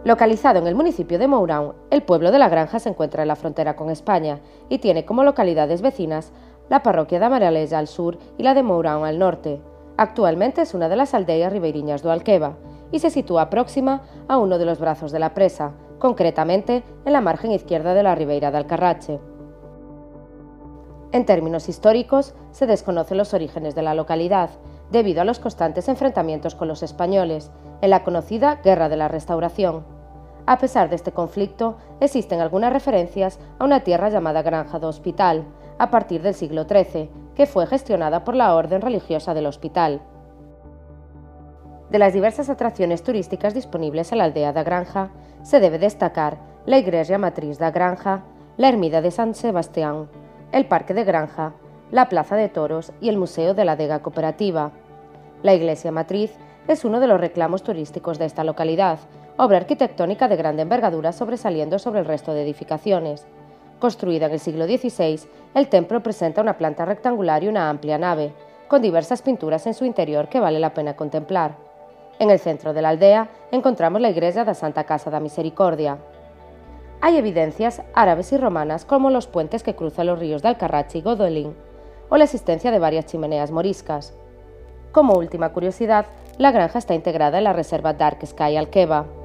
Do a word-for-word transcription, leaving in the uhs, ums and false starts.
Localizado en el municipio de Mourão, el pueblo de La Granja se encuentra en la frontera con España y tiene como localidades vecinas la parroquia de Amaraleza al sur y la de Mourão al norte. Actualmente es una de las aldeas ribeiriñas do Alqueva y se sitúa próxima a uno de los brazos de la presa, concretamente en la margen izquierda de la Ribeira de Alcarrache. En términos históricos, se desconocen los orígenes de la localidad, debido a los constantes enfrentamientos con los españoles, en la conocida Guerra de la Restauración. A pesar de este conflicto, existen algunas referencias a una tierra llamada Granja do Hospital, a partir del siglo trece, que fue gestionada por la Orden Religiosa del Hospital. De las diversas atracciones turísticas disponibles en la aldea da Granja, se debe destacar la Iglesia Matriz da Granja, la Ermida de San Sebastián, el Parque de Granja, la Plaza de Toros y el Museo de la Adega Cooperativa. La Iglesia Matriz es uno de los reclamos turísticos de esta localidad, obra arquitectónica de gran envergadura sobresaliendo sobre el resto de edificaciones. Construida en el siglo dieciséis, el templo presenta una planta rectangular y una amplia nave, con diversas pinturas en su interior que vale la pena contemplar. En el centro de la aldea encontramos la iglesia da Santa Casa da Misericordia. Hay evidencias árabes y romanas como los puentes que cruzan los ríos de Alcarrache y Godolín, o la existencia de varias chimeneas moriscas. Como última curiosidad, la granja está integrada en la reserva Dark Sky Alqueva.